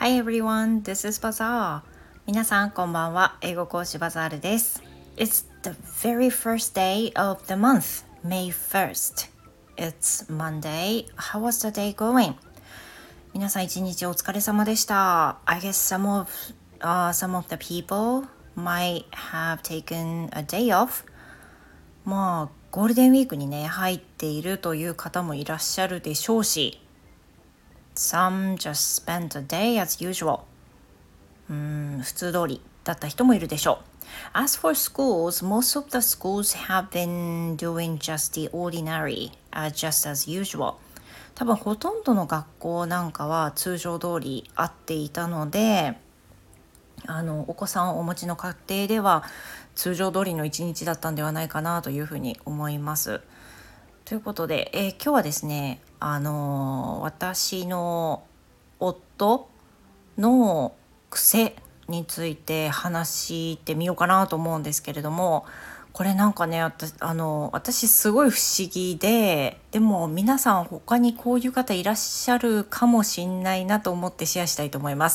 Hi everyone, this is Bazaar. 皆さんこんばんは。英語講師バザールです。It's the very first day of the month, May 1st. It's Monday. How was the day going? 皆さん一日お疲れ様でした。I guess some of the people might have taken a day off. まあゴールデンウィークにね入っているという方もいらっしゃるでしょうし、Some just spent a day as usual. 普通通りだった人もいるでしょう。As for schools, most of the schools have been doing just the ordinary, just as usual. 多分ほとんどの学校なんかは通常通りあっていたので、お子さんをお持ちの家庭では通常通りの一日だったんではないかなというふうに思います。ということで、今日はですね、私の夫の癖について話してみようかなと思うんですけれども、これなんかね、私すごい不思議で、でも皆さん他にこういう方いらっしゃるかもしんないなと思ってシェアしたいと思います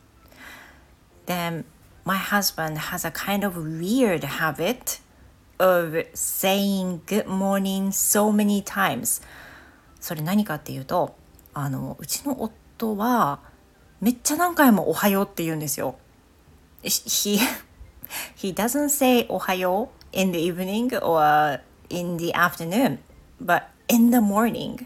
。Then my husband has a kind of weird habit of saying good morning so many times. それ何かっていうと、うちの夫はめっちゃ何回もおはようって言うんですよ。He doesn't say おはよう in the evening or in the afternoon, but in the morning.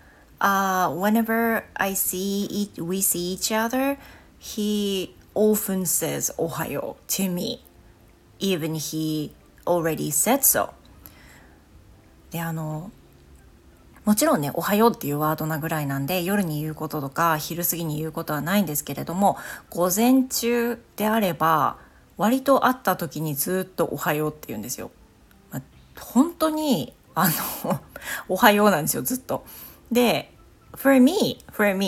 Whenever we see each other, he often says おはよう to me, even he already said so. で、もちろんね、おはようっていうワードなぐらいなんで、夜に言うこととか昼過ぎに言うことはないんですけれども、午前中であれば割と会った時にずっとおはようって言うんですよ。本当におはようなんですよ、ずっと。で、for me,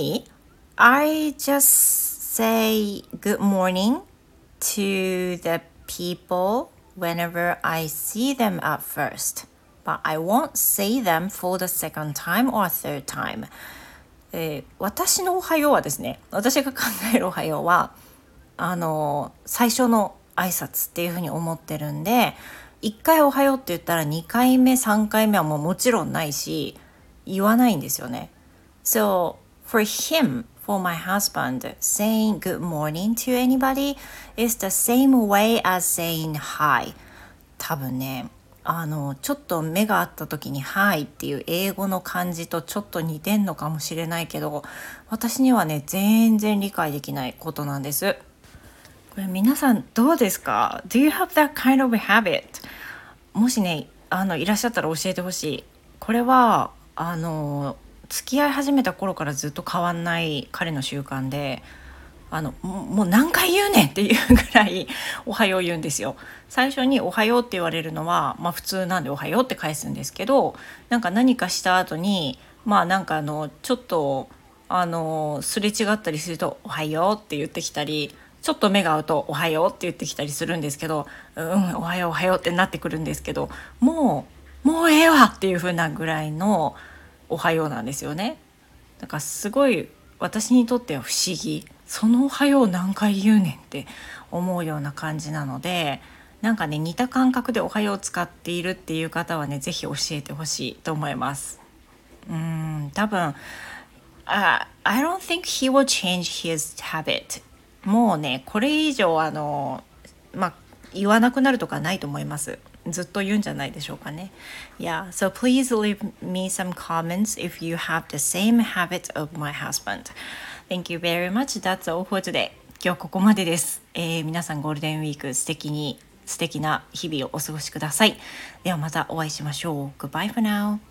I just say good morning to the people whenever I see them at first.But I won't say them for the second time or third time. 私のおはようはですね、私が考えるおはようは最初の挨拶っていうふうに思ってるんで、1回おはようって言ったら2回目3回目はもちろんないし言わないんですよね。So for my husband, saying good morning to anybody is the same way as saying hi. 多分ね、ちょっと目が合った時に「はい」っていう英語の漢字とちょっと似てんのかもしれないけど、私にはね全然理解できないことなんです。これ皆さんどうですか？ Do you have that kind of habit? もしねいらっしゃったら教えてほしい。これは付き合い始めた頃からずっと変わんない彼の習慣で、もう何回言うねんっていうぐらいおはよう言うんですよ。最初におはようって言われるのは、普通なんでおはようって返すんですけど、何かした後にちょっとすれ違ったりするとおはようって言ってきたり、ちょっと目が合うとおはようって言ってきたりするんですけど、おはようおはようってなってくるんですけど、もうええわっていう風なぐらいのおはようなんですよね。だからすごい私にとっては不思議、そのおはよう何回言うねんって思うような感じなので、似た感覚でおはよう使っているっていう方はね、ぜひ教えてほしいと思います。多分I don't think he will change his habit. もうねこれ以上言わなくなるとかないと思います。ずっと言うんじゃないでしょうかね。Yeah, so please leave me some comments if you have the same habit of my husband. Thank you very much. That's all for today. 今日ここまでです。皆さんゴールデンウィーク素敵な日々をお過ごしください。ではまたお会いしましょう。Goodbye for now.